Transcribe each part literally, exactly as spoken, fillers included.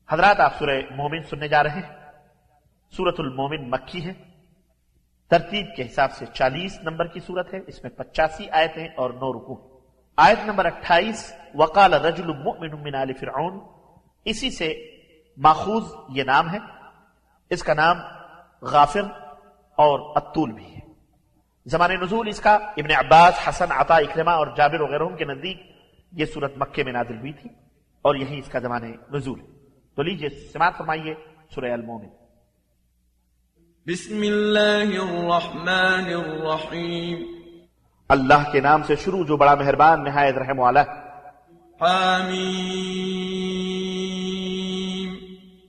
حضرات آپ سورہ مومن سننے جا رہے ہیں۔ سورۃ المومن مکی ہے، ترتیب کے حساب سے چالیس نمبر کی سورت ہے، اس میں پچاسی آیتیں اور نو رکوع۔ آیت نمبر اٹھائیس وقال رجل مؤمن من آل فرعون، اسی سے ماخوذ یہ نام ہے۔ اس کا نام غافر اور الطول بھی ہے۔ زمان نزول اس کا ابن عباس، حسن، عطا، اکرمہ اور جابر وغیرہ کے نزدیک یہ سورت مکے میں نازل ہوئی تھی اور یہی اس کا زمان نزول ہے۔ تو لیجئے سماعت فرمائیے سورہ المومن۔ بسم اللہ الرحمن الرحیم، اللہ کے نام سے شروع جو بڑا مہربان نہایت رحم والا ہے۔ حامیم،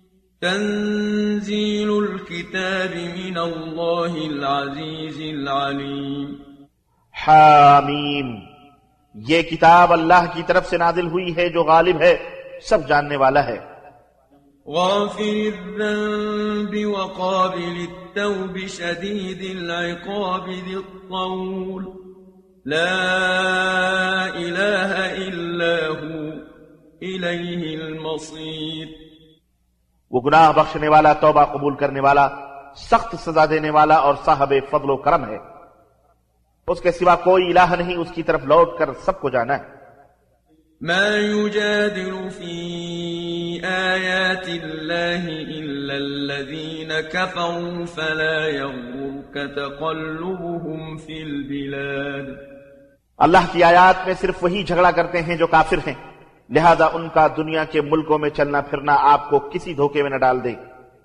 تنزیل الکتاب من اللہ العزیز العلیم۔ حامیم، یہ کتاب اللہ کی طرف سے نازل ہوئی ہے جو غالب ہے، سب جاننے والا ہے۔ غافر الذنب وقابل التوب شدید العقاب ذی الطول لا الہ الا ہو الیہ المصیر۔ وہ گناہ بخشنے والا، توبہ قبول کرنے والا، سخت سزا دینے والا اور صاحب فضل و کرم ہے۔ اس کے سوا کوئی الہ نہیں، اس کی طرف لوٹ کر سب کو جانا ہے۔ ما يجادل في آيات الله إلا الذين كفروا فلا يغرك تقلبهم في البلاد۔ اللہ کی آیات میں صرف وہی جھگڑا کرتے ہیں جو کافر ہیں، لہذا ان کا دنیا کے ملکوں میں چلنا پھرنا آپ کو کسی دھوکے میں نہ ڈال دے۔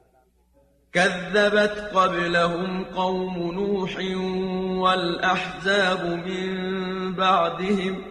كذبت قبلهم قوم نوح والأحزاب من بعدهم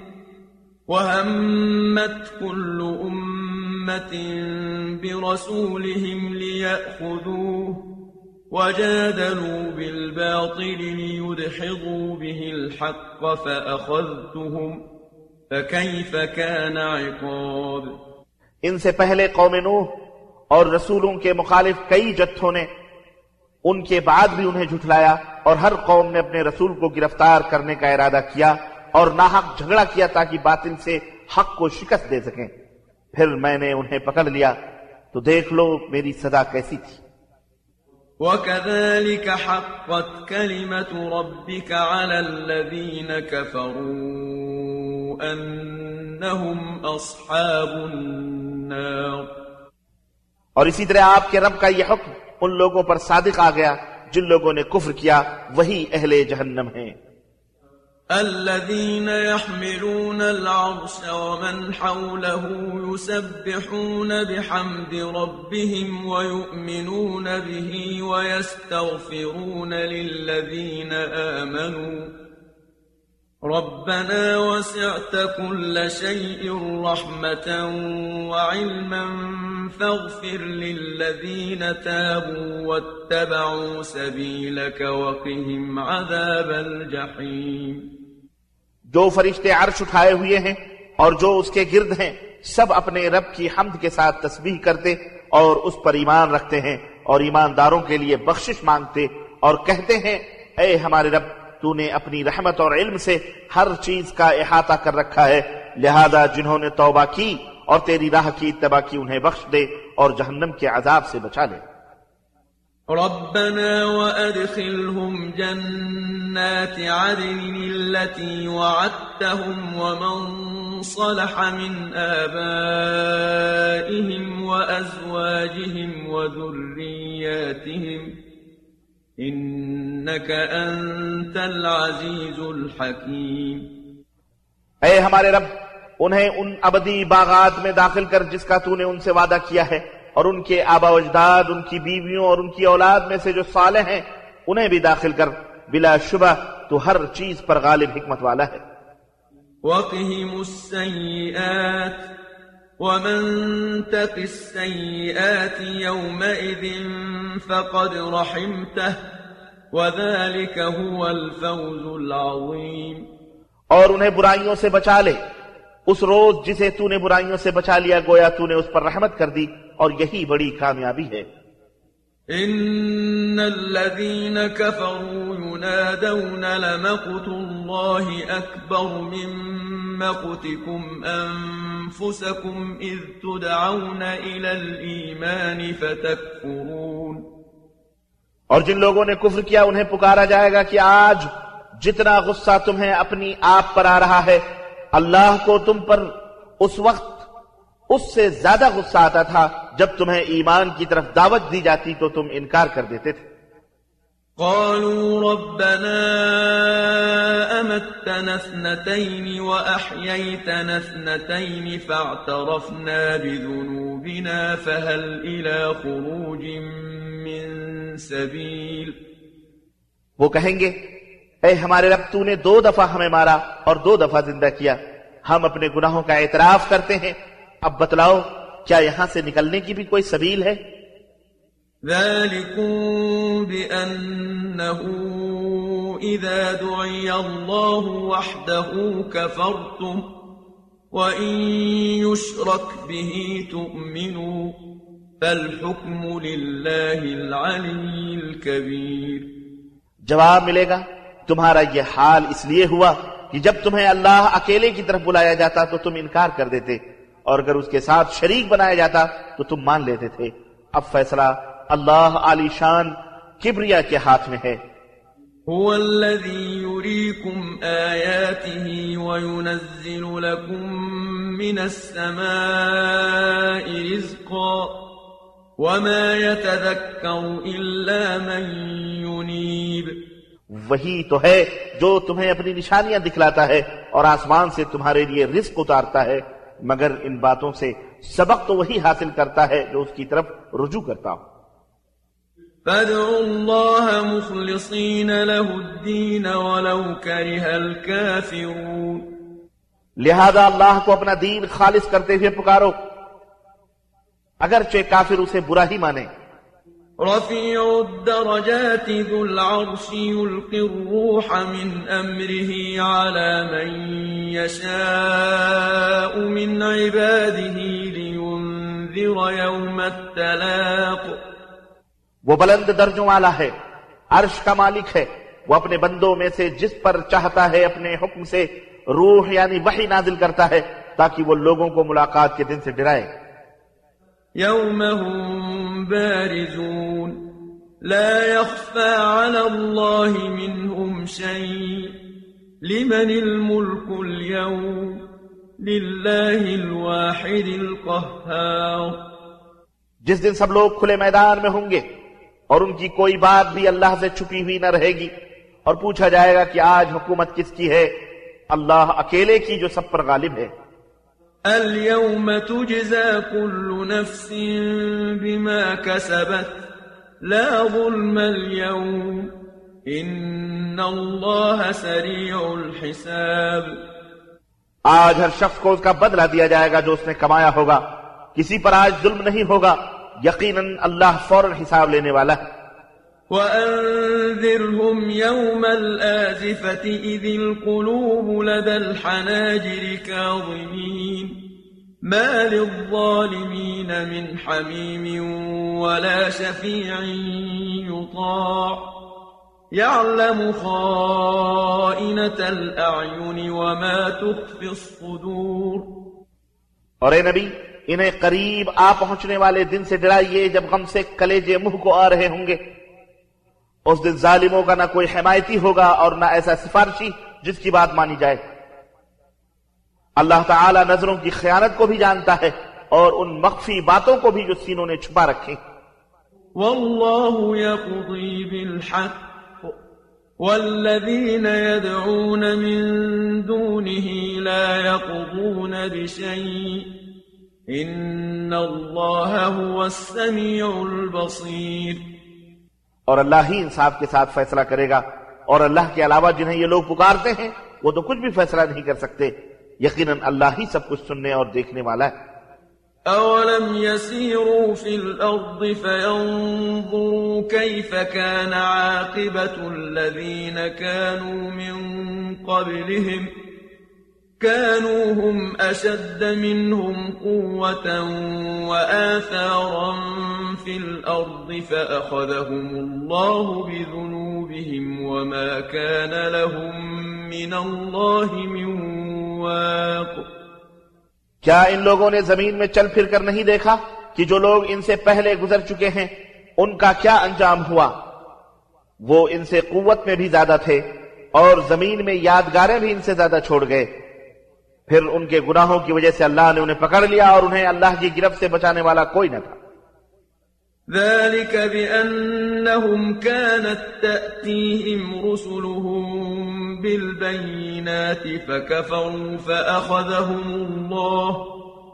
وهمت كل أمة برسولهم ليأخذوه وجادلوا بالباطل ليدحضوا به الحق فأخذتهم فكيف كان عقاب۔ ان سے پہلے قوم نوح اور رسولوں کے مخالف کئی جتھوں نے، ان کے بعد بھی انہیں جھٹلایا، اور ہر قوم نے اپنے رسول کو گرفتار کرنے کا ارادہ کیا اور ناحق جھگڑا کیا تاکہ باطل سے حق کو شکست دے سکیں۔ پھر میں نے انہیں پکڑ لیا، تو دیکھ لو میری سزا کیسی تھی۔ وَكَذَلِكَ حَقَّتْ كَلِمَةُ رَبِّكَ عَلَى الَّذِينَ كَفَرُوا أَنَّهُمْ أَصْحَابُ النَّارِ۔ اور اسی طرح آپ کے رب کا یہ حکم ان لوگوں پر صادق آ گیا جن لوگوں نے کفر کیا، وہی اہل جہنم ہیں۔ الذين يحملون العرش ومن حوله يسبحون بحمد ربهم ويؤمنون به ويستغفرون للذين آمنوا ربنا وسعت كل شيء رحمة وعلما فاغفر للذين تابوا واتبعوا سبيلك وقهم عذاب الجحيم۔ جو فرشتے عرش اٹھائے ہوئے ہیں اور جو اس کے گرد ہیں، سب اپنے رب کی حمد کے ساتھ تسبیح کرتے اور اس پر ایمان رکھتے ہیں اور ایمانداروں کے لیے بخشش مانگتے اور کہتے ہیں، اے ہمارے رب، تو نے اپنی رحمت اور علم سے ہر چیز کا احاطہ کر رکھا ہے، لہذا جنہوں نے توبہ کی اور تیری راہ کی اتباع کی انہیں بخش دے اور جہنم کے عذاب سے بچا لے۔ ربنا وأدخلهم جنات عدن التي وعدتهم ومن صلح من آبائهم وأزواجهم وذرياتهم إنك أنت العزيز الحكيم۔ اے ہمارے رب، انہیں ان ابدی باغات میں داخل کر جس کا تو نے ان سے وعدہ کیا ہے، اور ان کے آبا و اجداد، ان کی بیویوں اور ان کی اولاد میں سے جو صالح ہیں انہیں بھی داخل کر، بلا شبہ تو ہر چیز پر غالب حکمت والا ہے۔ وَقِهِمُ السَّيِّئَاتِ وَمَن تَقِ السَّيِّئَاتِ يَوْمَئِذٍ فَقَدْ رَحِمْتَهُ وَذَلِكَ هُوَ الْفَوْزُ الْعَظِيمُ۔ اور انہیں برائیوں سے بچا لے، اس روز جسے تو نے برائیوں سے بچا لیا گویا تو نے اس پر رحمت کر دی، اور یہی بڑی کامیابی ہے۔ إن الذين كفروا ينادون لمقت الله أكبر من مقتكم أنفسكم إذ تدعون إلى الإيمان فتكفرون. اور جن لوگوں نے کفر کیا انہیں پکارا جائے گا کہ آج جتنا غصہ تمہیں اپنی آپ پر آ رہا ہے اللہ کو تم پر اس وقت اس سے زیادہ غصہ آتا تھا جب تمہیں ایمان کی طرف دعوت دی جاتی تو تم انکار کر دیتے تھے. قالوا ربنا أمتنا اثنتين وأحييتنا اثنتين فاعترفنا بذنوبنا فهل إلى خروج من سبيل. وہ کہیں گے اے ہمارے رب تو نے دو دفعہ ہمیں مارا اور دو دفعہ زندہ کیا، ہم اپنے گناہوں کا اعتراف کرتے ہیں، اب بتلاؤ کیا یہاں سے نکلنے کی بھی کوئی سبیل ہے؟ ذلكم بأنه إذا دعي الله وحده كفرتم وإن يشرك به تؤمنوا فالحكم لله العلي الكبير. جواب ملے گا تمہارا یہ حال اس لیے ہوا کہ جب تمہیں اللہ اکیلے کی طرف بلایا جاتا تو تم انکار کر دیتے اور اگر اس کے ساتھ شریک بنایا جاتا تو تم مان لیتے تھے. اب فیصلہ اللہ عالی شان کبریا کے ہاتھ میں ہے. هو الذي يريكم آياته وينزل لكم من السماء رزقا وما يتذكر إلا من ينيب. وہی تو ہے جو تمہیں اپنی نشانیاں دکھلاتا ہے اور آسمان سے تمہارے لیے رزق اتارتا ہے، مگر ان باتوں سے سبق تو وہی حاصل کرتا ہے جو اس کی طرف رجوع کرتا ہو. فادعوا الله مخلصين له الدين ولو كره الكافرون. لہذا اللہ کو اپنا دین خالص کرتے ہوئے پکارو اگرچہ کافر اسے برا ہی مانے. رفيع الدرجات ذو العرش يلقي الروح من أمره على من يشاء من عباده لينذر يوم التلاق. وہ بلند درجوں والا ہے، عرش کا مالک ہے، وہ اپنے بندوں میں سے جس پر چاہتا ہے اپنے حکم سے روح یعنی وحی نازل کرتا ہے تاکہ وہ لوگوں کو ملاقات کے دن سے ڈرائے. يوم هم بارزون لا يخفى على الله منهم شيء لمن الملك اليوم لله الواحد القهار. جس دن سب لوگ کھلے میدان میں ہوں گے اور ان کی کوئی بات بھی اللہ سے چھپی ہوئی نہ رہے گی اور پوچھا جائے گا کہ آج حکومت کس کی ہے؟ اللہ اکیلے کی جو سب پر غالب ہے. اليوم تجزى كل نفس بما كسبت لا ظلم اليوم إن الله سريع الحساب. آج ہر شخص کو اس کا بدلہ دیا جائے گا جو اس نے کمایا ہوگا، کسی پر آج ظلم نہیں ہوگا، یقیناً اللہ فوراً حساب لینے والا ہے. وأنذرهم يوم الآزفة إذ القلوب لدى الحناجر كاظمين ما للظالمين من حميم ولا شفيع يطاع يعلم خائنة الأعين وما تخفي الصدور. اور اے نبی انہیں قریب آ پہنچنے والے دن سے ڈرائیے جب غم سے کلیجے منہ کو آ رہے ہوں گے. اس دن ظالموں کا نہ کوئی حمایتی ہوگا اور نہ ایسا سفارشی جس کی بات مانی جائے. اللہ تعالی نظروں کی خیانت کو بھی جانتا ہے اور ان مخفی باتوں کو بھی جو سینوں نے چھپا رکھی. واللہ یقضی بالحق والذین يدعون من دونه لا يقضون بشيء ان اللہ هو السمیع البصیر. اور اللہ ہی انصاف کے ساتھ فیصلہ کرے گا اور اللہ کے علاوہ جنہیں یہ لوگ پکارتے ہیں وہ تو کچھ بھی فیصلہ نہیں کر سکتے، یقیناً اللہ ہی سب کچھ سننے اور دیکھنے والا ہے. اولم يسيروا في الارض فينظروا كيف كان عاقبة الذين كانوا من قبلهم كانوا هم أشد منهم قوة وآثارا في الأرض فأخذهم الله بذنوبهم وما كان لهم من الله من واق. کیا ان لوگوں نے زمین میں چل پھر کر نہیں دیکھا کہ جو لوگ ان سے پہلے گزر چکے ہیں ان کا کیا انجام ہوا؟ وہ ان سے قوت میں بھی زیادہ تھے اور زمین میں یادگاریں بھی ان سے زیادہ چھوڑ گئے. پھر ان کے گناہوں کی وجہ سے اللہ نے انہیں پکڑ لیا اور انہیں اللہ کی گرفت سے بچانے والا کوئی نہ تھا. ذلك بأنهم كانت تأتيهم رسلهم بالبينات فكفروا فأخذهم الله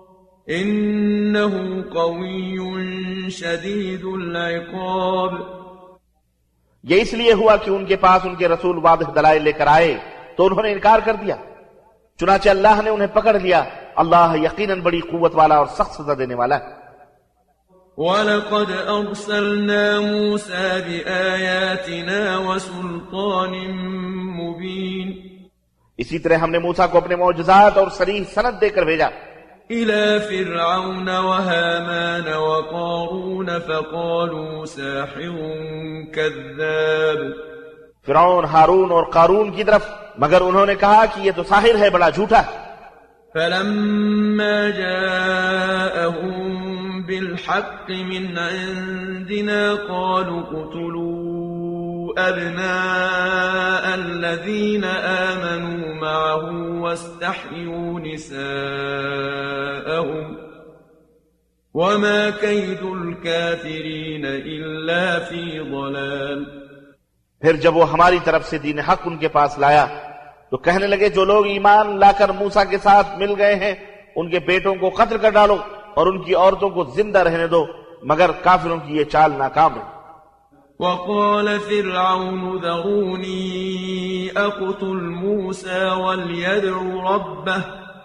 إنه قوي شديد العقاب. یہ اس لیے ہوا کہ ان کے پاس ان کے رسول واضح دلائل لے کر آئے تو انہوں نے انکار کر دیا، چنانچہ اللہ نے انہیں پکڑ لیا. اللہ یقیناً بڑی قوت والا اور سخت سزا دینے والا ہے. وَلَقَدْ أَرْسَلْنَا مُوسَى بِآيَاتِنَا وَسُلْطَانٍ مُبِينٍ. اسی طرح ہم نے موسیٰ کو اپنے معجزات اور صریح سند دے کر بھیجا إِلَى فِرْعَوْنَ وَهَامَانَ وَقَارُونَ فَقَالُوا سَاحِرٌ كَذَّابٌ. فرعون، ہارون اور قارون کی طرف، مگر انہوں نے کہا کہ یہ تو ساحر ہے، بڑا جھوٹا ہے. فَلَمَّا جَاءَهُم بِالْحَقِّ مِنْ عِنْدِنَا قَالُوا اقْتُلُوا أَبْنَاءَ الَّذِينَ آمَنُوا مَعَهُ وَاسْتَحْيُوا نِسَاءَهُمْ وَمَا كَيْدُ الْكَافِرِينَ إِلَّا فِي ضَلَالٍ. پھر جب وہ ہماری طرف سے دین حق ان کے پاس لایا تو کہنے لگے جو لوگ ایمان لا کر موسیٰ کے ساتھ مل گئے ہیں ان کے بیٹوں کو قتل کر ڈالو اور ان کی عورتوں کو زندہ رہنے دو، مگر کافروں کی یہ چال ناکام ہے. وقال فرعون ذروني أقتل موسى وليدع ربه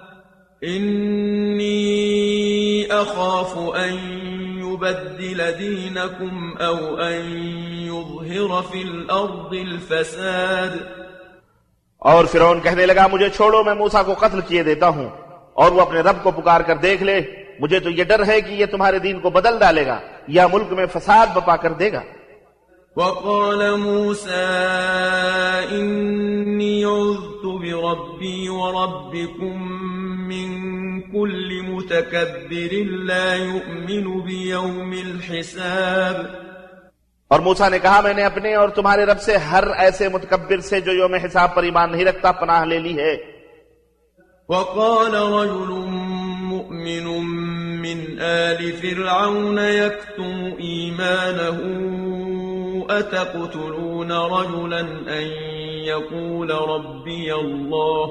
إني أخاف أن يبدل دينكم أو أن يظهر في الأرض الفساد. اور فرعون کہنے لگا مجھے چھوڑو، میں موسیٰ کو قتل کیے دیتا ہوں اور وہ اپنے رب کو پکار کر دیکھ لے، مجھے تو یہ ڈر ہے کہ یہ تمہارے دین کو بدل ڈالے گا یا ملک میں فساد بپا کر دے گا. وقال موسى إني عذت بربي وربكم من كل متكبر لا يؤمن بيوم الحساب. اور موسیٰ نے کہا میں نے اپنے اور تمہارے رب سے ہر ایسے متکبر سے جو یوم حساب پر ایمان نہیں رکھتا پناہ لے لی ہے. وقال رجل مؤمن من آل فرعون يكتم إيمانه أتقتلون رجلا أن يقول ربي الله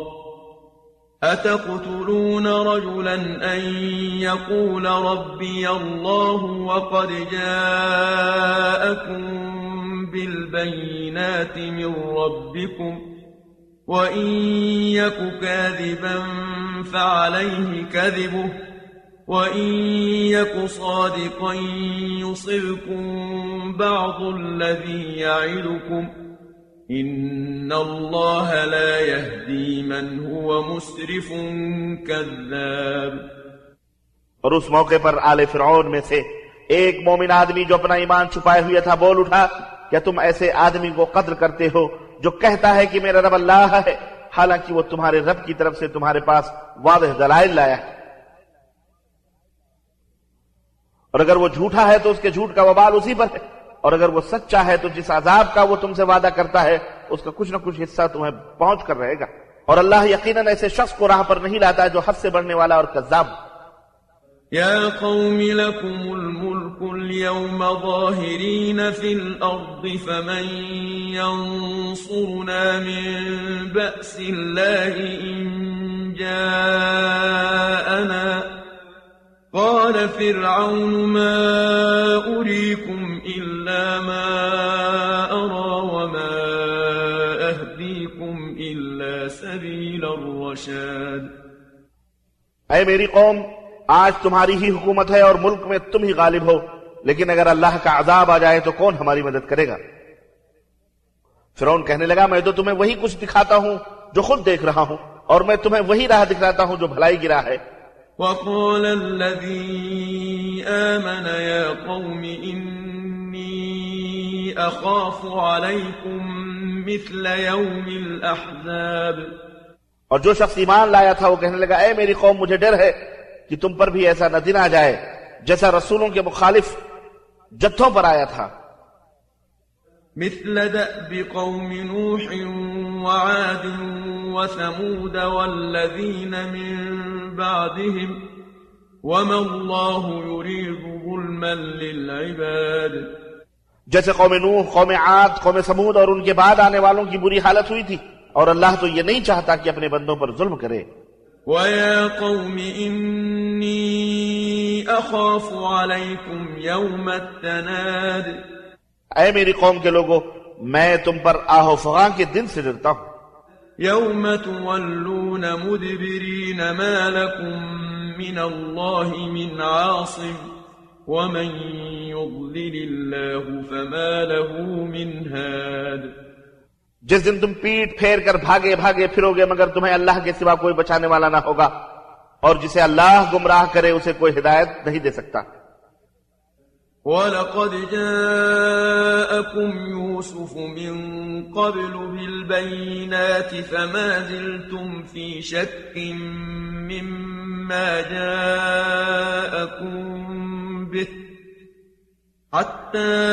أتقتلون رجلا أن يقول ربي الله وقد جاءكم بالبينات من ربكم وإن يك كاذبا فعليه كذبه وإن يك صادقا يصبكم بعض الذي يعدكم إن الله لا يهدي من هو مسرف كذاب. اور اس موقع پر آل فرعون میں سے ایک مومن آدمی جو اپنا ایمان چھپائے ہوئے تھا بول اٹھا کیا تم ایسے آدمی کو قتل کرتے ہو جو کہتا ہے کہ میرا رب اللہ ہے حالانکہ وہ تمہارے رب کی طرف سے تمہارے پاس واضح دلائل لایا ہے. اور اگر وہ جھوٹا ہے تو اس کے جھوٹ کا وبال اسی پر ہے، اور اگر وہ سچا ہے تو جس عذاب کا وہ تم سے وعدہ کرتا ہے اس کا کچھ نہ کچھ حصہ تمہیں پہنچ کر رہے گا. اور اللہ یقیناً ایسے شخص کو راہ پر نہیں لاتا جو حد سے بڑھنے والا اور کذاب. يا قوم لكم الملك اليوم ظاهرين في الأرض فمن ينصرنا من بأس الله إن جاءنا قال فرعون ما أريكم إلا ما أرى وما أهديكم إلا سبيل الرشاد. اے میری قوم، آج تمہاری ہی حکومت ہے اور ملک میں تم ہی غالب ہو، لیکن اگر اللہ کا عذاب آ جائے تو کون ہماری مدد کرے گا؟ فرعون کہنے لگا میں تو تمہیں وہی کچھ دکھاتا ہوں جو خود دیکھ رہا ہوں اور میں تمہیں وہی راہ دکھلاتا ہوں جو بھلائی کی راہ ہے۔ وقال الذي آمن يا قوم إني أخاف عليكم مثل يوم الأحزاب، اور جو شخص ایمان لایا تھا وہ کہنے لگا اے میری قوم مجھے ڈر ہے کہ تم پر بھی ایسا نہ دن آ جائے جیسا رسولوں کے مخالف جتھوں پر آیا تھا۔ مثل دأب قوم نوح وعاد وثمود والذين من بعدهم وما الله يريد ظلما للعباد، جیسے قوم نوح، قوم عاد، قوم سمود اور ان کے بعد آنے والوں کی بری حالت ہوئی تھی، اور اللہ تو یہ نہیں چاہتا کہ اپنے بندوں پر ظلم کرے۔ وَيَا قَوْمِ إِنِّي أَخَافُ عَلَيْكُمْ يَوْمَ التَّنَادِ، اے میری قوم کے لوگوں میں تم پر آہ و فغاں کے دن سے ڈرتا ہوں۔ يَوْمَ تُوَلُّونَ مُدْبِرِينَ مَا لَكُمْ مِنَ اللَّهِ مِنْ عَاصِمٍ وَمَنْ يُضْلِلِ اللَّهُ فَمَا لَهُ مِنْ هَادٍ، جس دن تم پیٹ پھیر کر بھاگے بھاگے پھرو گے مگر تمہیں اللہ کے سوا کوئی بچانے والا نہ ہوگا، اور جسے اللہ گمراہ کرے اسے کوئی ہدایت نہیں دے سکتا۔ وَلَقَدْ جَاءَكُمْ يُوسُفُ مِنْ قَبْلُ بِالْبَيِّنَاتِ فَمَا زِلْتُمْ فِي شَكٍّ مِّمَّا جَاءَكُمْ بِهِ حَتَّى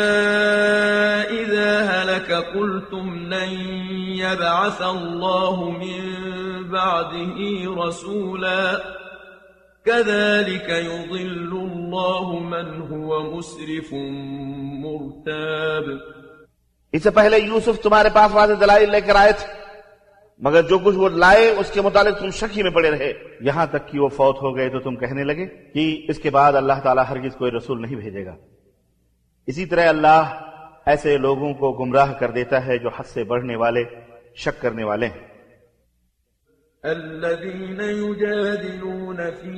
إِذَا هَلَكَ قُلْتُمْ لَنْ يَبْعَثَ اللَّهُ مِنْ بَعْدِهِ رَسُولًا كَذَلِكَ يُضِلُّ اللَّهُ مَنْ هُوَ مُسْرِفٌ مُرْتَابٌ۔ اس سے پہلے یوسف تمہارے پاس واضح دلائل لے کر آئے تھے، مگر جو کچھ وہ لائے اس کے متعلق تم شکی میں پڑے رہے، یہاں تک کہ وہ فوت ہو گئے تو تم کہنے لگے کہ اس کے بعد اللہ تعالیٰ ہرگز کوئی رسول نہیں بھیجے گا۔ اسی طرح اللہ ایسے لوگوں کو گمراہ کر دیتا ہے جو حد سے بڑھنے والے، شک کرنے والے ہیں۔ الذين يجادلون في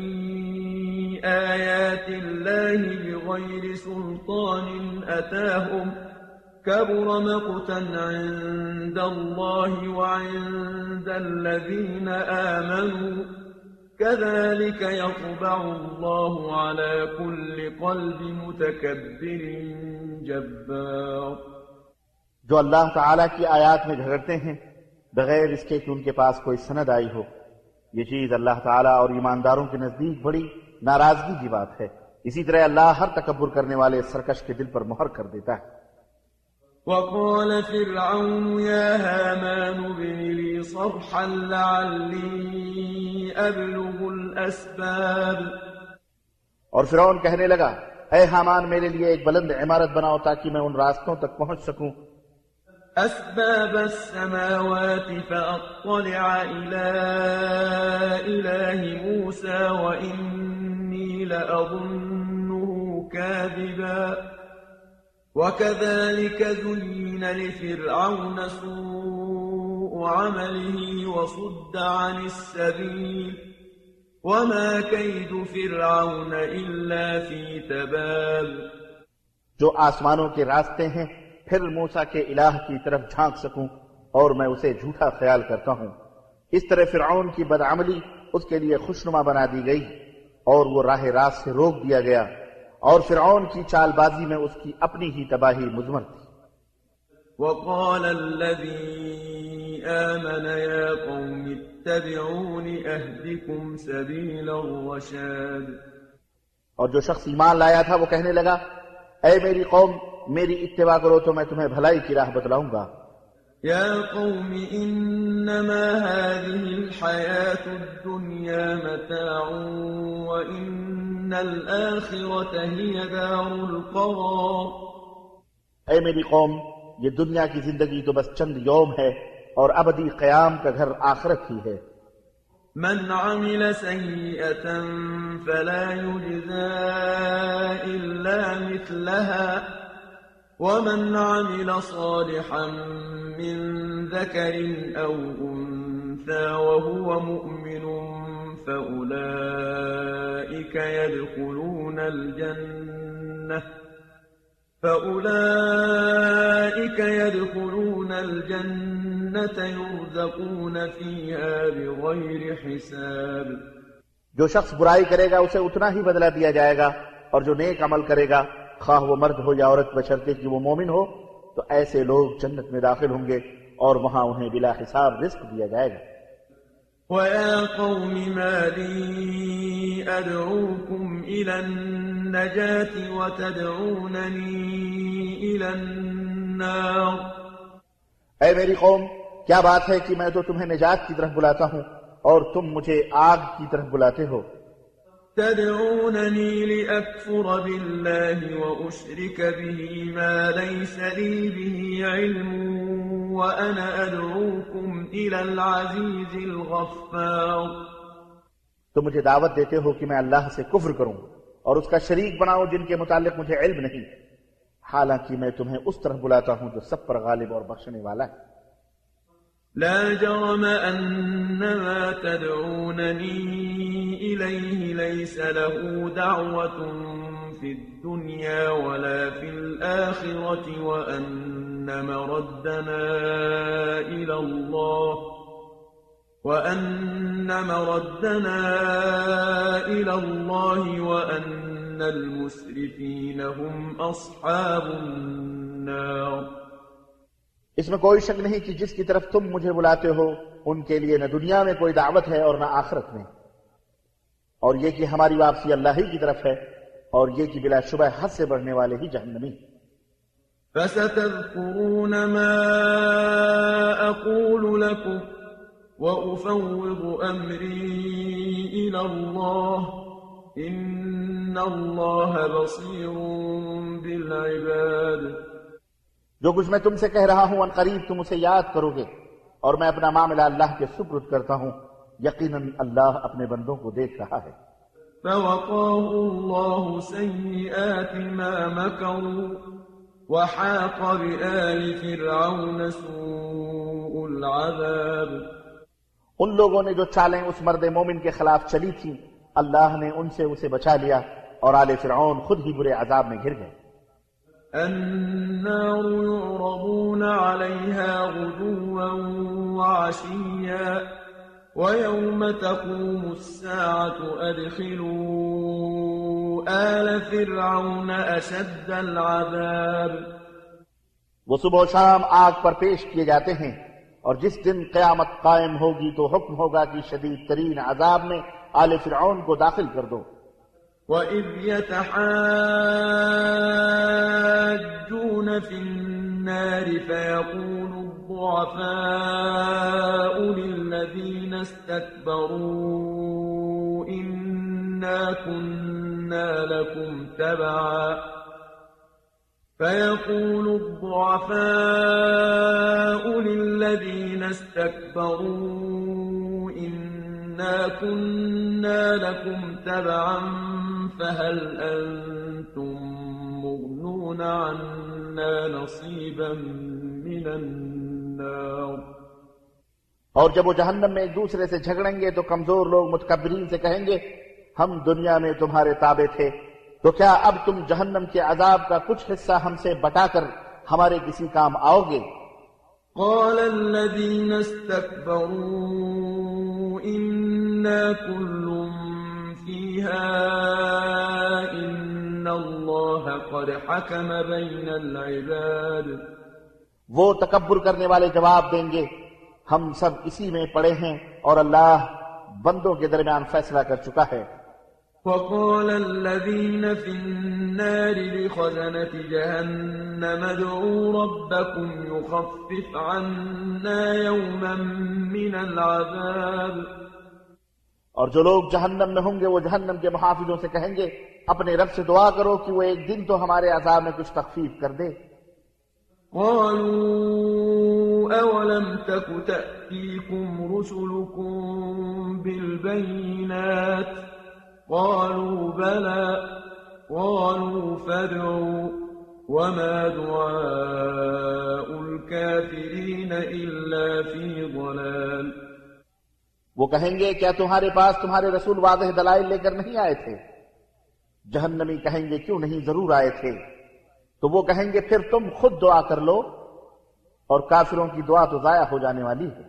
آيات الله بغير سلطان أتاهم كبر مقتا عند الله وعند الذين آمنوا كذلك يطبع الله على كل قلب متكبر جبار۔ جو اللہ تعالیٰ کی آیات میں جھگڑتے ہیں بغیر اس کے کہ ان کے پاس کوئی سند آئی ہو، یہ چیز اللہ تعالیٰ اور ایمانداروں کے نزدیک بڑی ناراضگی کی بات ہے۔ اسی طرح اللہ ہر تکبر کرنے والے سرکش کے دل پر مہر کر دیتا ہے۔ وقال فرعون يا هامان ابن لي صرحا لعلي أبلغ الأسباب، اور فرعون کہنے لگا اے حامان میرے لیے ایک بلند عمارت بناؤ تاکہ میں ان راستوں تک پہنچ سکوں أسباب السماوات فأطلع إلى إله موسى وإني لأظنه كاذبا وكذلك زين لفرعون سوء عمله وصد عن السبيل وما كيد فرعون إلا في تباب۔ جو آسمانوں کے راستے ہیں پھر موسیٰ کے الہ کی طرف جھانک سکوں، اور میں اسے جھوٹا خیال کرتا ہوں۔ اس طرح فرعون کی بدعملی اس کے لیے خوشنما بنا دی گئی اور وہ راہ راست سے روک دیا گیا، اور فرعون کی چال بازی میں اس کی اپنی ہی تباہی مضمر تھی۔ وقال الذي آمن يا قوم اتبعون أهدكم سبيل الرشاد، اور جو شخص ایمان لایا تھا وہ کہنے لگا اے میری قوم میری اتباع کرو تو میں تمہیں بھلائی کی راہ بتلاؤں گا۔ يا قوم إنما هذه الحياة الدنيا متاع وإن الآخرة هي دار القرار۔ اے میری قوم یہ دنیا کی زندگی تو بس چند یوم ہے اور ابدی قیام کا گھر آخرت ہی ہے۔ من عمل سيئة فلا يجزى إلا مثلها ومن عمل صالحا من ذكر أو أنثى وهو مؤمن فأولئك يدخلون الجنة فأولئك يدخلون الجنة الجنة يرزقون فيها بغير حساب. جو شخص برائی کرے گا اسے اتنا ہی بدلہ دیا جائے گا، اور جو نیک عمل کرے گا خواہ وہ مرد ہو یا عورت بشرطے کہ وہ مومن ہو، تو ایسے لوگ جنت میں داخل ہوں گے اور وہاں انہیں بلا حساب رزق دیا جائے گا۔ وَيَا قَوْمِ مَا لِي أَدْعُوكُمْ إِلَى النَّجَاةِ وَتَدْعُونَنِي إِلَى النَّارِ۔ اے میری قوم، کیا بات ہے کہ میں تو تمہیں نجات کی طرف بلاتا ہوں اور تم مجھے آگ کی طرف بلاتے ہو۔ تدعونني لأكفر بالله وأشرك به ما ليس لي به علم وأنا أدعوكم إلى العزيز الغفار۔ تم مجھے دعوت دیتے ہو کہ میں اللہ سے کفر کروں اور اس کا شریک بناؤں جن کے متعلق مجھے علم نہیں، حالانکہ میں تمہیں اس طرح بلاتا ہوں جو سب پر غالب اور بخشنے والا ہے۔ لا جرم أن ما تدعونني إليه ليس له دعوة في الدنيا ولا في الآخرة وأن مردنا إلى الله وأن مردنا إلى الله وأن المسرفين هم أصحاب النار۔ اس میں کوئی شک نہیں کہ جس کی طرف تم مجھے بلاتے ہو ان کے لیے نہ دنیا میں کوئی دعوت ہے اور نہ آخرت میں، اور یہ کہ ہماری واپسی اللہ ہی کی طرف ہے، اور یہ کہ بلا شبہ حد سے بڑھنے والے ہی جہنمی۔ فَسَتَذْكُرُونَ مَا أَقُولُ لَكُمْ وَأُفَوِّضُ أَمْرِي إِلَى اللَّهِ إِنَّ اللَّهَ بَصِيرٌ بِالْعِبَادِ۔ جو کچھ میں تم سے کہہ رہا ہوں ان قریب تم اسے یاد کرو گے، اور میں اپنا معاملہ اللہ کے سپرد کرتا ہوں، یقیناً اللہ اپنے بندوں کو دیکھ رہا ہے۔ فَوَقَاهُ اللَّهُ سَيِّئَاتِ مَا مَكَرُوا وَحَاقَ بِآلِ فِرْعَوْنَ سُوءُ الْعَذَابِ۔ ان لوگوں نے جو چالیں اس مرد مومن کے خلاف چلی تھیں، اللہ نے ان سے اسے بچا لیا، اور آل فرعون خود ہی برے عذاب میں گر گئے۔ النار يعرضون عليها غدوا وعشيا ويوم تقوم الساعة أدخلوا آل فرعون أشد العذاب۔ وہ صبح و شام آگ پر پیش کیے جاتے ہیں، اور جس دن قیامت قائم ہوگی تو حکم ہوگا کہ شدید ترین عذاب میں آل فرعون کو داخل کر دو۔ وَإِذْ يَتَحَاجُّونَ فِي النَّارِ فَيَقُولُ الضُّعَفَاءُ لِلَّذِينَ اسْتَكْبَرُوا إِنَّا كُنَّا لَكُمْ تَبَعًا فَيَقُولُ الضُّعَفَاءُ لِلَّذِينَ اسْتَكْبَرُوا إِنَّا كُنَّا لَكُمْ تَبَعًا فَهَلْ أَنْتُمْ مُغْنُونَ عَنَّا نَصِيبًا مِنَ النَّارِ۔ اور جب وہ جہنم میں ایک دوسرے سے جھگڑیں گے تو کمزور لوگ متکبرین سے کہیں گے، ہم دنیا میں تمہارے تابع تھے، تو کیا اب تم جہنم کے عذاب کا کچھ حصہ ہم سے بٹا کر ہمارے کسی کام آؤ گے؟ قال الذين استكبروا إنا كل فيها إن الله قد حكم بين العباد۔ وہ تکبر کرنے والے جواب دیں گے، ہم سب اسی میں پڑے ہیں اور اللہ بندوں کے درمیان فیصلہ کر چکا ہے۔ وقال الذين في النار لخزنة جهنم ادعوا ربكم يخفف عنا يوما من العذاب۔ اور جو لوگ جہنم میں ہوں گے وہ جہنم کے محافظوں سے کہیں گے، اپنے رب سے دعا کرو کہ وہ ایک دن تو ہمارے عذاب میں کچھ تخفیف کر دے۔ قالوا أولم تك تأتيكم رسلكم بالبينات قالوا بلى قالوا فادعوا وما دعاء الكافرين إلا في ضلال۔ وہ کہیں گے کیا تمہارے پاس تمہارے رسول واضح دلائل لے کر نہیں آئے تھے؟ جہنمی کہیں گے کیوں نہیں، ضرور آئے تھے۔ تو وہ کہیں گے پھر تم خود دعا کر لو۔ اور کافروں کی دعا تو ضائع ہو جانے والی ہے۔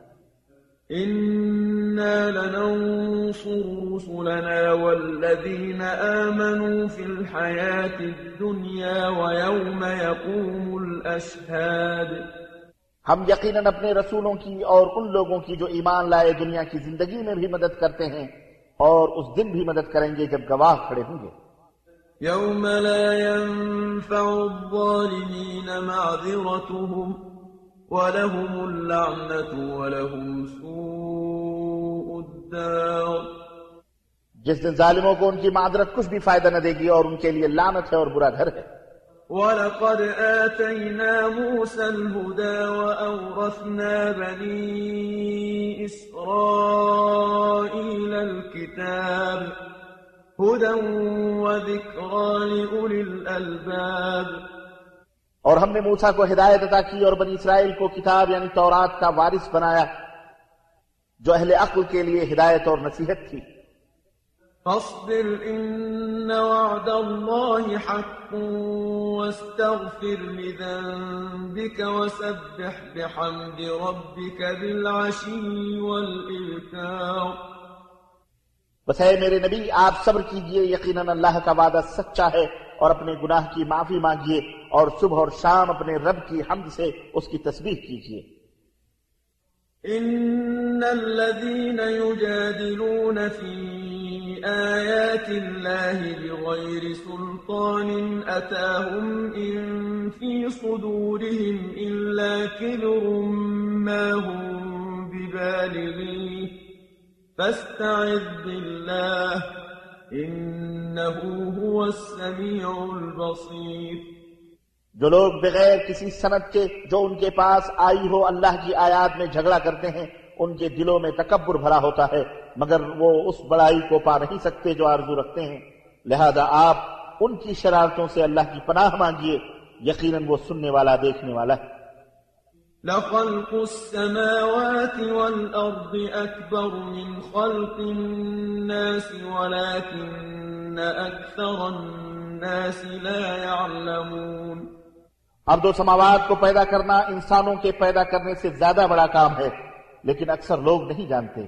إنا لننصر رسلنا والذين آمنوا في الحياة الدنيا ويوم يقوم الأشهاد۔ ہم یقیناً اپنے رسولوں کی اور ان لوگوں کی جو ایمان لائے دنیا کی زندگی میں بھی مدد کرتے ہیں اور اس دن بھی مدد کریں گے جب گواہ کھڑے ہوں گے۔ يوم لا ينفع الظالمين معذرتهم وَلَهُمُ اللَّعْنَةُ وَلَهُمْ سُوءُ الدَّارِ۔ جس دن ظالموں کو ان کی معذرت کچھ بھی فائدہ نہ دے گی اور ان کے لیے لعنت ہے اور برا گھر ہے۔ وَلَقَدْ آتَيْنَا مُوسَى الْهُدَى وَأَوْرَثْنَا بَنِي إِسْرَائِيلَ الْكِتَابَ هُدًى وَذِكْرَى لِأُولِي الْأَلْبَابِ۔ اور ہم نے موسیٰ کو ہدایت عطا کی اور بنی اسرائیل کو کتاب یعنی تورات کا وارث بنایا جو اہل عقل کے لیے ہدایت اور نصیحت تھی۔ فاصبر إن وعد الله حق واستغفر لذنبك وسبح بحمد ربك بالعشي والإبكار۔ بس اے میرے نبی آپ صبر کیجئے، یقیناً اللہ کا وعدہ سچا ہے، اور اپنے گناہ کی معافی مانگیے اور صبح اور شام اپنے رب کی حمد سے اس کی تسبیح کیجیے۔ ان الذين يجادلون في آيات الله بغير سلطان أتاهم إن في صدورهم إلا كبر ما هم ببالغيه فاستعذ بالله إنه هو السميع البصير۔ جو لوگ بغیر کسی سند کے جو ان کے پاس آئی ہو اللہ کی آیات میں جھگڑا کرتے ہیں ان کے دلوں میں تکبر بھرا ہوتا ہے مگر وہ اس بڑائی کو پا نہیں سکتے جو آرزو رکھتے ہیں، لہذا آپ ان کی شرارتوں سے اللہ کی پناہ مانگیے، یقیناً وہ سننے والا دیکھنے والا ہے۔ لخلق السماوات والأرض أكبر من خلق الناس ولكن أكثر الناس لا يعلمون۔ اب دو سماوات کو پیدا کرنا انسانوں کے پیدا کرنے سے زیادہ بڑا کام ہے لیکن اکثر لوگ نہیں جانتے۔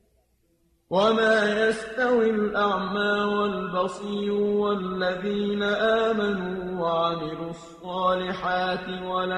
وما يستوي الأعمى والبصير والذين آمنوا وعملوا الصالحات ولا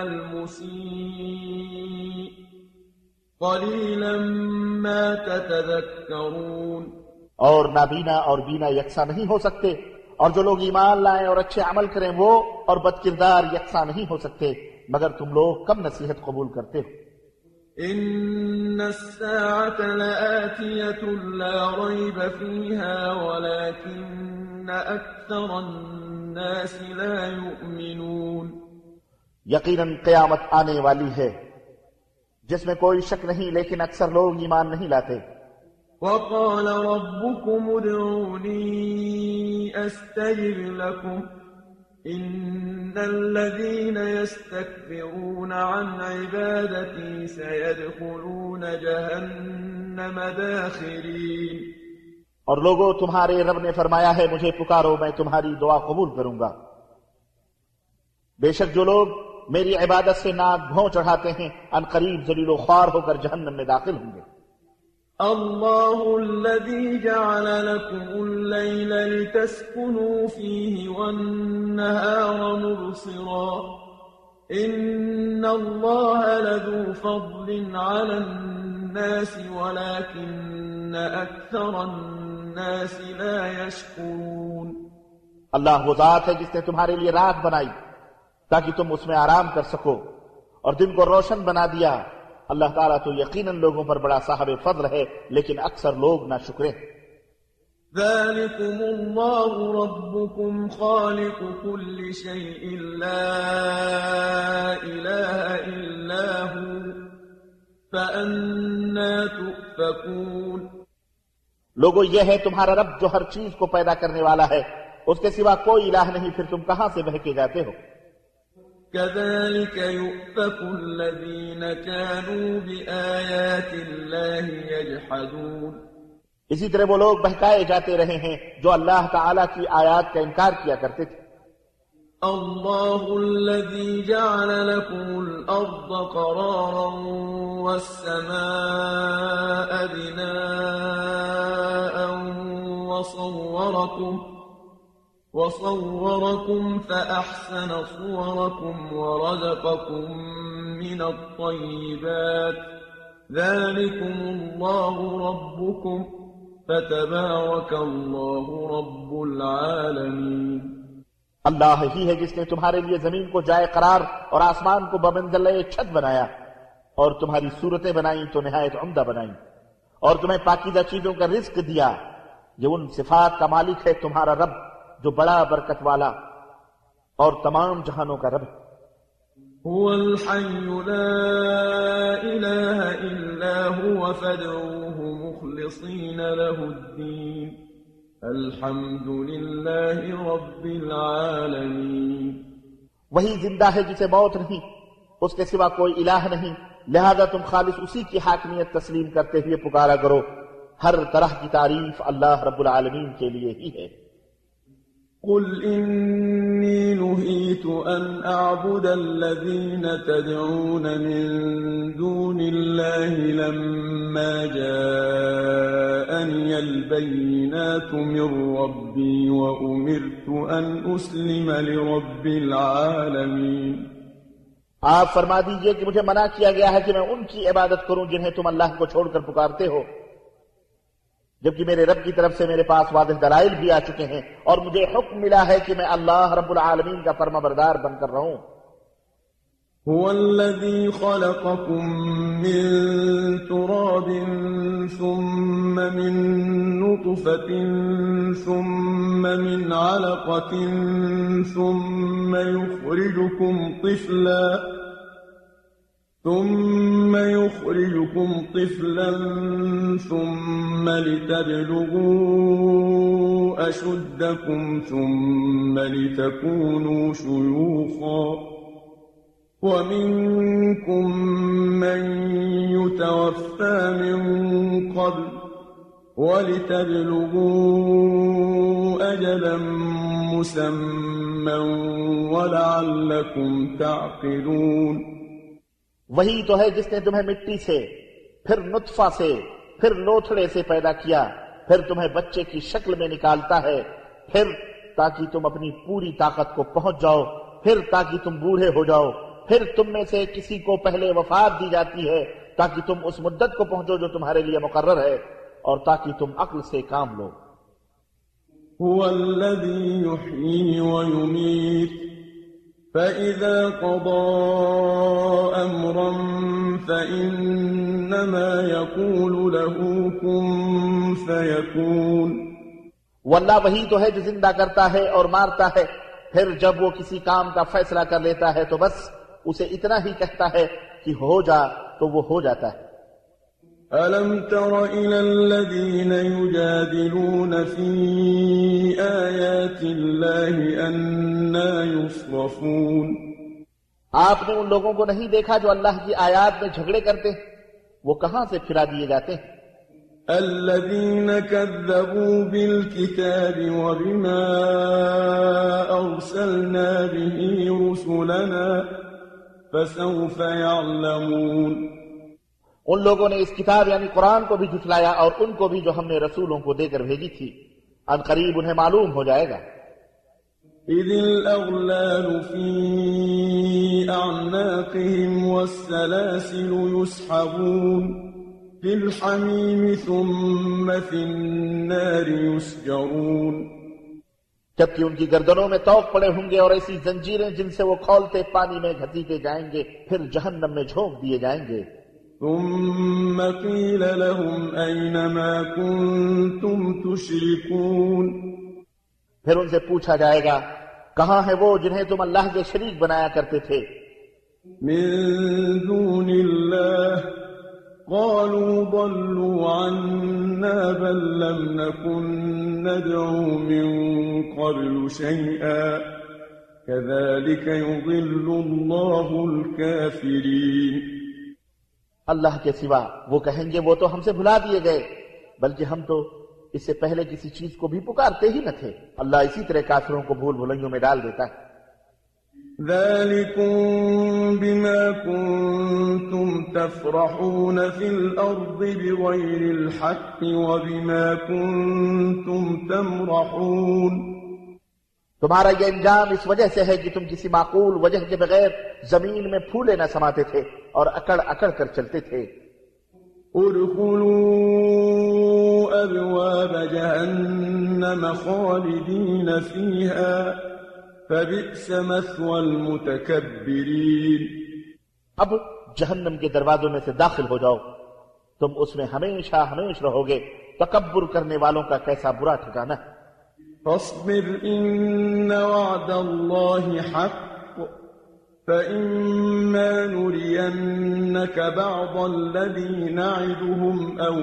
المسيء قليلا ما تتذكرون۔ اور نابینا اور بینا یکساں نہیں ہو سکتے، اور جو لوگ ایمان لائیں اور اچھے عمل کریں وہ اور بد کردار یکساں نہیں ہو سکتے، مگر تم لوگ کم نصیحت قبول کرتے ہو۔ إن الساعة لآتية لا ريب فيها ولكن أكثر الناس لا يؤمنون۔ یقیناً قیامت آنے والی ہے جس میں کوئی شک نہیں لیکن اکثر لوگ ایمان نہیں لاتے۔ وقال ربكم ادعوني أستجب لكم إن الذين يستكبرون عن عبادتي سيدخلون جهنم داخرين۔ اور لوگوں تمہارے رب نے فرمایا ہے مجھے پکارو میں تمہاری دعا قبول کروں گا، بے شک جو لوگ میری عبادت سے ناک بھون چڑھاتے ہیں ان قریب ذلیل و خوار ہو کر جہنم میں داخل ہوں گے۔ الله الذي جعل لكم الليل لتسكنوا فيه والنهار مبصرا إن الله لذو فضل على الناس ولكن أكثر الناس لا يشكرون۔ اللہ وہ ذات ہے جس نے تمہارے لیے رات بنائی تاکہ تم اس میں آرام کر سکو اور دن کو روشن بنا دیا، اللہ تعالیٰ تو یقیناً لوگوں پر بڑا صاحب فضل ہے لیکن اکثر لوگ نہ شکرے۔ ذلكم الله ربكم خالق كل شيء لا إله إلا هو فأنا تؤفكون۔ لوگو یہ ہے تمہارا رب جو ہر چیز کو پیدا کرنے والا ہے، اس کے سوا کوئی الہ نہیں، پھر تم کہاں سے بہکے جاتے ہو؟ كذلك يؤفك الذين كانوا بآيات الله يجحدون۔ اسی طرح وہ لوگ بہکائے جاتے رہے ہیں جو اللہ تعالیٰ کی آیات کا انکار کیا کرتے تھے۔ الله الذي جعل لكم الأرض قرارا والسماء بناء وصوركم وصوركم فأحسن صوركم ورزقكم من الطيبات ذلكم الله ربكم فتبارك الله رب العالمين اللہ ہی ہے جس نے تمہارے لیے زمین کو جائے قرار اور آسمان کو بمنزلِ چھت بنایا اور تمہاری صورتیں بنائیں تو نہایت عمدہ بنائیں اور تمہیں پاکیزہ چیزوں کا رزق دیا. یہ ان صفات کا مالک ہے تمہارا رب جو بڑا برکت والا اور تمام جہانوں کا رب ہے. هو الحي لا إله إلا هو فادعوه مخلصين له الدين الحمد لله رب العالمين. وہی زندہ ہے جسے موت نہیں، اس کے سوا کوئی الہ نہیں، لہذا تم خالص اسی کی حاکمیت تسلیم کرتے ہوئے پکارا کرو. ہر طرح کی تعریف اللہ رب العالمین کے لیے ہی ہے. قل إني نهيت أن أعبد الذين تدعون من دون الله لما جاءني البينات من ربي وأمرت أن أسلم لرب العالمين. آپ فرما دیجئے کہ مجھے منع کیا گیا ہے کہ میں ان کی عبادت کروں جنہیں تم اللہ کو چھوڑ کر پکارتے ہو، جبکہ میرے رب کی طرف سے میرے پاس واضح دلائل بھی آ چکے ہیں اور مجھے حکم ملا ہے کہ میں اللہ رب العالمین کا فرما بردار بن کر رہوں. هو الذي خلقكم من تراب ثم من نطفة ثم من علقة ثم يخرجكم طفلا ثم يخرجكم طفلا ثم لتبلغوا أشدكم ثم لتكونوا شيوخا ومنكم من يتوفى من قبل ولتبلغوا أجلا مسمى ولعلكم تعقلون. وہی تو ہے جس نے تمہیں مٹی سے، پھر نطفہ سے، پھر لوتھڑے سے پیدا کیا، پھر تمہیں بچے کی شکل میں نکالتا ہے، پھر تاکہ تم اپنی پوری طاقت کو پہنچ جاؤ، پھر تاکہ تم بوڑھے ہو جاؤ، پھر تم میں سے کسی کو پہلے وفات دی جاتی ہے تاکہ تم اس مدت کو پہنچو جو تمہارے لیے مقرر ہے اور تاکہ تم عقل سے کام لو. هو الذي يحيي ويميت فإذا قضى أمرا فإنما يقول له كن فيكون. واللہ وہی تو ہے جو زندہ کرتا ہے اور مارتا ہے، پھر جب وہ کسی کام کا فیصلہ کر لیتا ہے تو بس اسے اتنا ہی کہتا ہے کہ ہو جا تو وہ ہو جاتا ہے. أَلَمْ تَرَ إِلَى الَّذِينَ يُجَادِلُونَ فِي آيَاتِ اللَّهِ أَنَّىٰ يُصْرَفُونَ. آپ نے ان لوگوں کو نہیں دیکھا جو اللہ کی آیات میں جھگڑے کرتے ہیں، وہ کہاں سے پھرا دیے جاتے ہیں؟ الذين كذبوا بالكتاب وبما أرسلنا به رسلنا فسوف يعلمون. ان لوگوں نے اس کتاب یعنی قرآن کو بھی جھٹلایا اور ان کو بھی جو ہم نے رسولوں کو دے کر بھیجی تھی، ان قریب انہیں معلوم ہو جائے گا. إذ الأغلال في أعناقهم والسلاسل يسحبون في الحميم ثم في النار يسجرون. جبکہ ان کی گردنوں میں توق پڑے ہوں گے اور ایسی زنجیریں جن سے وہ کھولتے پانی میں گھسیٹے جائیں گے، پھر جہنم میں جھونک دیے جائیں گے. ثم قيل لهم أين ما كنتم تشركون. پھر ان سے پوچھا جائے گا کہاں ہے وہ جنہیں تم اللہ کے شریک بنایا کرتے تھے؟ من دون الله قالوا ضلوا عنا بل لم نكن ندعو من قبل شيئا كذلك يضل الله الكافرين. اللہ کے سوا وہ کہیں گے وہ تو ہم سے بھلا دیے گئے، بلکہ ہم تو اس سے پہلے کسی چیز کو بھی پکارتے ہی نہ تھے. اللہ اسی طرح کافروں کو بھول بھلائیوں میں ڈال دیتا ہے. ذلكم بما كنتم تفرحون في الأرض بغير الحق وبما كنتم تمرحون. تمہارا یہ انجام اس وجہ سے ہے کہ تم کسی معقول وجہ کے بغیر زمین میں پھولے نہ سماتے تھے اور اکڑ اکڑ کر چلتے تھے. ادخلوا ابواب جہنم خالدین فیہا فبئس مثوى المتکبرین. اب جہنم کے دروازوں میں سے داخل ہو جاؤ، تم اس میں ہمیشہ ہمیش رہو گے. تکبر کرنے والوں کا کیسا برا ٹھکانہ. فاصبر ان وعد اللہ حق فإما نرينك بعض الذي نعدهم أو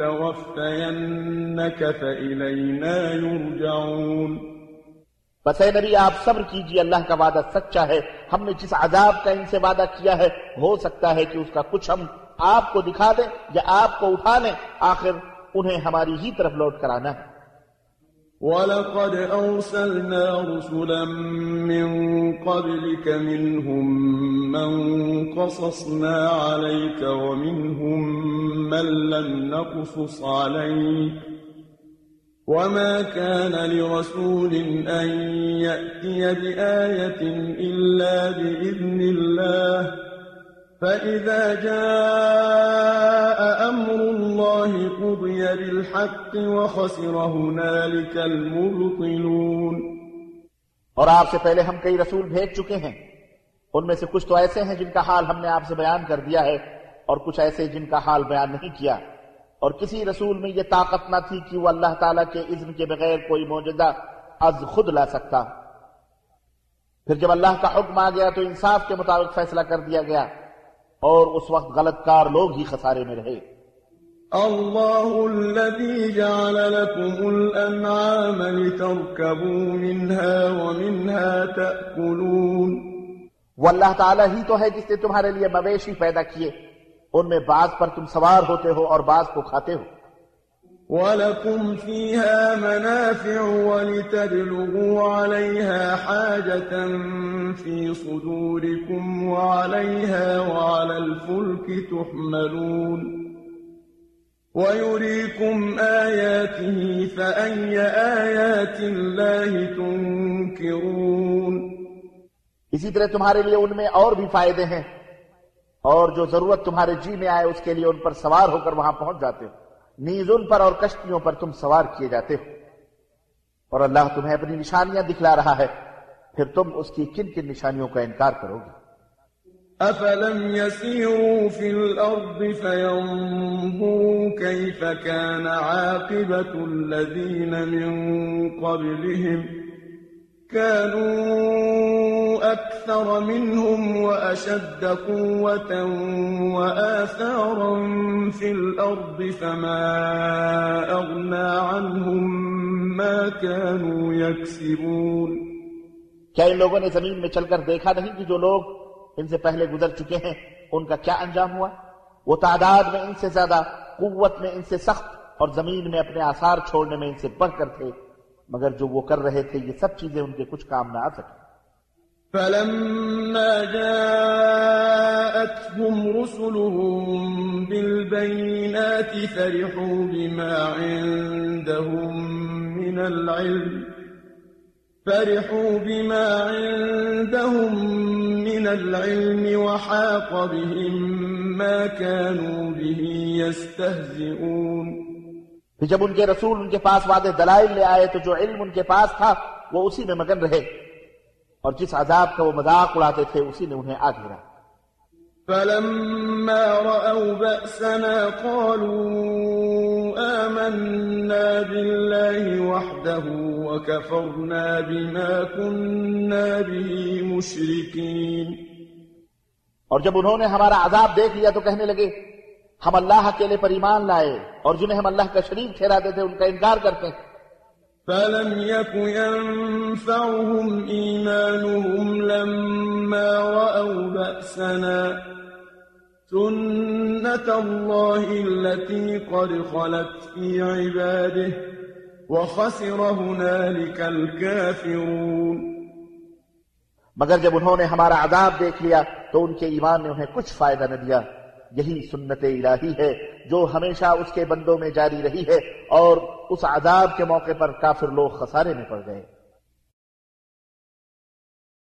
نتوفينك فإلينا يرجعون. بس اے نبی آپ صبر کیجئے، اللہ کا وعدہ سچا ہے. ہم نے جس عذاب کا ان سے وعدہ کیا ہے ہو سکتا ہے کہ اس کا کچھ ہم آپ کو دکھا دیں یا آپ کو اٹھا لیں، آخر انہیں ہماری ہی طرف لوٹ کر آنا ہے. وَلَقَدْ أَرْسَلْنَا رُسُلًا مِّن قَبْلِكَ مِنْهُم مَّن قَصَصْنَا عَلَيْكَ وَمِنْهُم مَّن لَّمْ نَقْصُصْ عَلَيْكَ وَمَا كَانَ لِرَسُولٍ أَن يَأْتِيَ بِآيَةٍ إِلَّا بِإِذْنِ اللَّهِ فَإِذَا جَاءَ أَمْرُ اللَّهِ قُضِيَ بِالْحَقِّ وَخَسِرَ هُنَالِكَ الْمُبْطِلُونَ. اور آپ سے پہلے ہم کئی رسول بھیج چکے ہیں، ان میں سے کچھ تو ایسے ہیں جن کا حال ہم نے آپ سے بیان کر دیا ہے اور کچھ ایسے جن کا حال بیان نہیں کیا. اور کسی رسول میں یہ طاقت نہ تھی کہ وہ اللہ تعالیٰ کے اذن کے بغیر کوئی معجزہ از خود لا سکتا. پھر جب اللہ کا حکم آ گیا تو انصاف کے مطابق فیصلہ کر دیا گیا اور اس وقت غلط کار لوگ ہی خسارے میں رہے. اللہ الذي جعل لكم الانعام لتركبوا منها ومنها تأكلون. وہ اللہ تعالیٰ ہی تو ہے جس نے تمہارے لیے مویشی پیدا کیے، ان میں بعض پر تم سوار ہوتے ہو اور بعض کو کھاتے ہو. وَلَكُمْ فِيهَا مَنَافِعُ وَلِتَبْلُغُوا عَلَيْهَا حَاجَةً فِي صُدُورِكُمْ وَعَلَيْهَا وَعَلَى الْفُلْكِ تُحْمَلُونَ. وَيُرِيكُمْ آيَاتِهِ فَأَيَّ آيَاتِ اللَّهِ تُنكِرُونَ. اسی طرح تمہارے لیے ان میں اور بھی فائدے ہیں، اور جو ضرورت تمہارے جی میں آئے اس کے لیے ان پر سوار ہو کر وہاں پہنچ جاتے ہو. نیز ان پر اور کشتیوں پر تم سوار کیے جاتے ہو. اور اللہ تمہیں اپنی نشانیاں دکھلا رہا ہے، پھر تم اس کی کن کن نشانیوں کا انکار کرو گے. أَفَلَمْ يَسِيرُوا فِي الْأَرْضِ فَيَنظُرُوا كَيْفَ كَانَ عَاقِبَةُ الَّذِينَ مِن قَبْلِهِمْ كَانُوا أَكْثَرَ مِنْهُمْ وَأَشَدَّ قُوَّةً وَآثَارًا فِي الْأَرْضِ فَمَا أَغْنَى عَنْهُمْ مَا كَانُوا يَكْسِبُونَ. کیا ان لوگوں نے زمین میں چل کر دیکھا نہیں کہ جو لوگ ان سے پہلے گزر چکے ہیں ان کا کیا انجام ہوا؟ وہ تعداد میں ان سے زیادہ، قوت میں ان سے سخت، اور زمین میں اپنے آثار چھوڑنے میں ان سے بڑھ کر تھے، مگر جو وہ کر رہے تھے یہ سب چیزیں ان کے کچھ کام نہ آ سکیں. فَلَمَّا جَاءَتْهُمْ رُسُلُهُم بِالْبَيِّنَاتِ فَرِحُوا بِمَا عِندَهُم مِّنَ الْعِلْمِ فَرِحُوا بِمَا عِندَهُم مِّنَ الْعِلْمِ وَحَاقَ بِهِم مَّا كَانُوا بِهِ يَسْتَهْزِئُونَ. پھر جب ان کے رسول ان کے پاس واضح دلائل لے آئے تو جو علم ان کے پاس تھا وہ اسی میں مگن رہے، اور جس عذاب کا وہ مذاق اڑاتے تھے اسی نے انہیں آ گھیرا. فَلَمَّا رَأَوْا بَأْسَنَا قَالُوا آمَنَّا بِاللَّهِ وَحْدَهُ وَكَفَرْنَا بِمَا كُنَّا بِهِ مُشْرِكِينَ. اور جب انہوں نے ہمارا عذاب دیکھ لیا تو کہنے لگے ہم اللہ اکیلے پر ایمان لائے، اور جنہیں ہم اللہ کا شریک ٹھہراتے تھے ان کا انکار کرتے ہیں. فَلَمْ يَكُ يَنفَعُهُمْ إِيمَانُهُمْ لَمَّا رَأَوْا بَأْسَنَا سُنَّةَ اللَّهِ الَّتِي قَدْ خَلَتْ فِي عِبَادِهِ وَخَسِرَ هُنَالِكَ الْكَافِرُونَ. مگر جب انہوں نے ہمارا عذاب دیکھ لیا تو ان کے ایمان نے انہیں کچھ فائدہ نہ دیا۔ یہی سنت الہی ہے جو ہمیشہ اس کے بندوں میں جاری رہی ہے، اور اس عذاب کے موقع پر کافر لوگ خسارے میں پڑ گئے۔